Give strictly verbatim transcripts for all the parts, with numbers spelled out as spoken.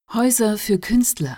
Häuser für Künstler.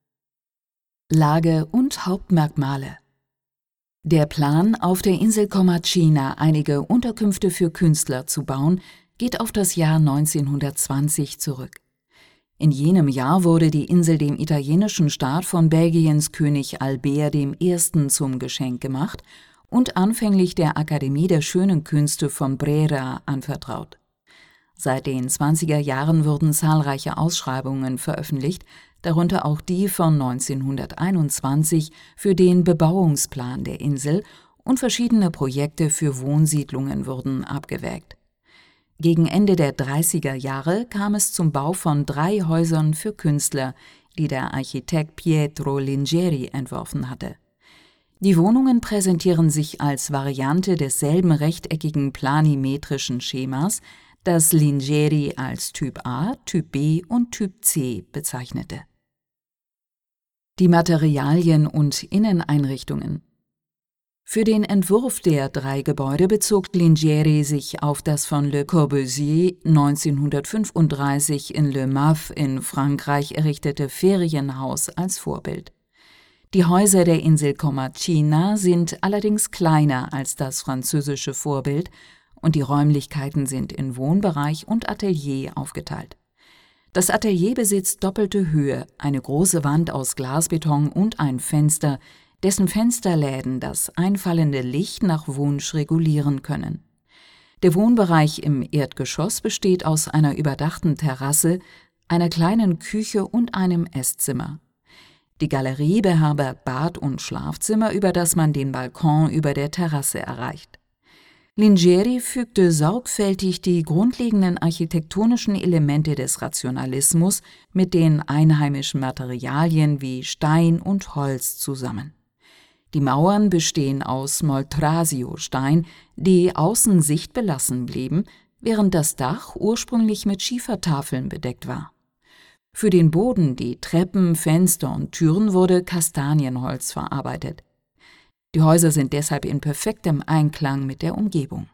Lage und Hauptmerkmale. Der Plan, auf der Insel Comacina einige Unterkünfte für Künstler zu bauen, geht auf das Jahr neunzehnhundertzwanzig zurück. In jenem Jahr wurde die Insel dem italienischen Staat von Belgiens König Albert der Erste zum Geschenk gemacht und anfänglich der Akademie der Schönen Künste von Brera anvertraut. Seit den zwanziger Jahren wurden zahlreiche Ausschreibungen veröffentlicht, darunter auch die von neunzehnhunderteinundzwanzig für den Bebauungsplan der Insel, und verschiedene Projekte für Wohnsiedlungen wurden abgewägt. Gegen Ende der dreißiger Jahre kam es zum Bau von drei Häusern für Künstler, die der Architekt Pietro Lingeri entworfen hatte. Die Wohnungen präsentieren sich als Variante desselben rechteckigen planimetrischen Schemas, das Lingeri als Typ A, Typ B und Typ C bezeichnete. Die Materialien und Inneneinrichtungen. Für den Entwurf der drei Gebäude bezog Lingeri sich auf das von Le Corbusier neunzehnhundertfünfunddreißig in Le Mât in Frankreich errichtete Ferienhaus als Vorbild. Die Häuser der Insel Comacina sind allerdings kleiner als das französische Vorbild, und die Räumlichkeiten sind in Wohnbereich und Atelier aufgeteilt. Das Atelier besitzt doppelte Höhe, eine große Wand aus Glasbeton und ein Fenster, dessen Fensterläden das einfallende Licht nach Wunsch regulieren können. Der Wohnbereich im Erdgeschoss besteht aus einer überdachten Terrasse, einer kleinen Küche und einem Esszimmer. Die Galerie beherbergt Bad und Schlafzimmer, über das man den Balkon über der Terrasse erreicht. Lingeri fügte sorgfältig die grundlegenden architektonischen Elemente des Rationalismus mit den einheimischen Materialien wie Stein und Holz zusammen. Die Mauern bestehen aus Moltrasio-Stein, die außen sichtbelassen blieben, während das Dach ursprünglich mit Schiefertafeln bedeckt war. Für den Boden, die Treppen, Fenster und Türen wurde Kastanienholz verarbeitet. Die Häuser sind deshalb in perfektem Einklang mit der Umgebung.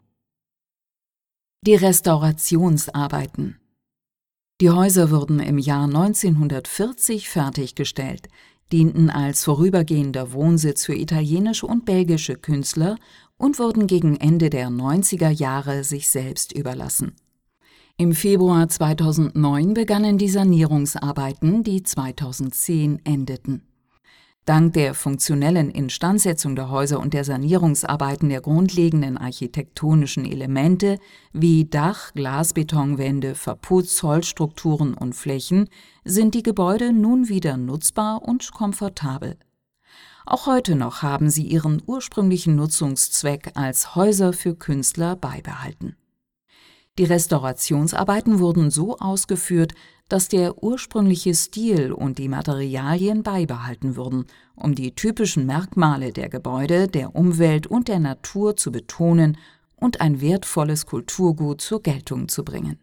Die Restaurationsarbeiten. Die Häuser wurden im Jahr neunzehnhundertvierzig fertiggestellt, dienten als vorübergehender Wohnsitz für italienische und belgische Künstler und wurden gegen Ende der neunziger Jahre sich selbst überlassen. Im Februar zweitausendneun begannen die Sanierungsarbeiten, die zweitausendzehn endeten. Dank der funktionellen Instandsetzung der Häuser und der Sanierungsarbeiten der grundlegenden architektonischen Elemente wie Dach, Glasbetonwände, Verputz, Holzstrukturen und Flächen sind die Gebäude nun wieder nutzbar und komfortabel. Auch heute noch haben sie ihren ursprünglichen Nutzungszweck als Häuser für Künstler beibehalten. Die Restaurationsarbeiten wurden so ausgeführt, dass der ursprüngliche Stil und die Materialien beibehalten wurden, um die typischen Merkmale der Gebäude, der Umwelt und der Natur zu betonen und ein wertvolles Kulturgut zur Geltung zu bringen.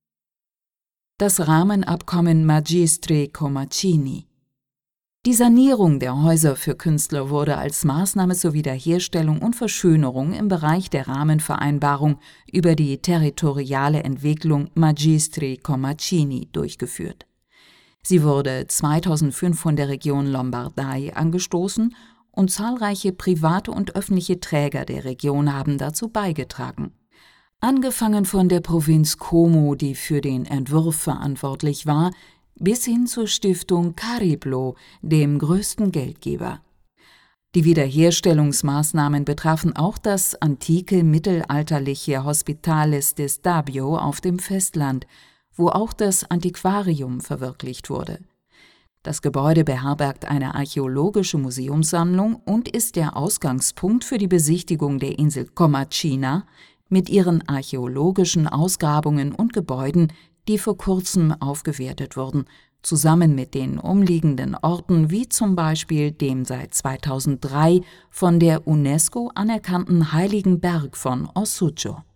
Das Rahmenabkommen Magistri Comacini. Die Sanierung der Häuser für Künstler wurde als Maßnahme zur Wiederherstellung und Verschönerung im Bereich der Rahmenvereinbarung über die territoriale Entwicklung Magistri Comacini durchgeführt. Sie wurde zweitausendfünf von der Region Lombardei angestoßen und zahlreiche private und öffentliche Träger der Region haben dazu beigetragen. Angefangen von der Provinz Como, die für den Entwurf verantwortlich war, bis hin zur Stiftung Cariplo, dem größten Geldgeber. Die Wiederherstellungsmaßnahmen betrafen auch das antike mittelalterliche Hospitales de Stabio auf dem Festland, wo auch das Antiquarium verwirklicht wurde. Das Gebäude beherbergt eine archäologische Museumssammlung und ist der Ausgangspunkt für die Besichtigung der Insel Comacina mit ihren archäologischen Ausgrabungen und Gebäuden, die vor kurzem aufgewertet wurden, zusammen mit den umliegenden Orten wie zum Beispiel dem seit zweitausenddrei von der UNESCO anerkannten Heiligen Berg von Ossuccio.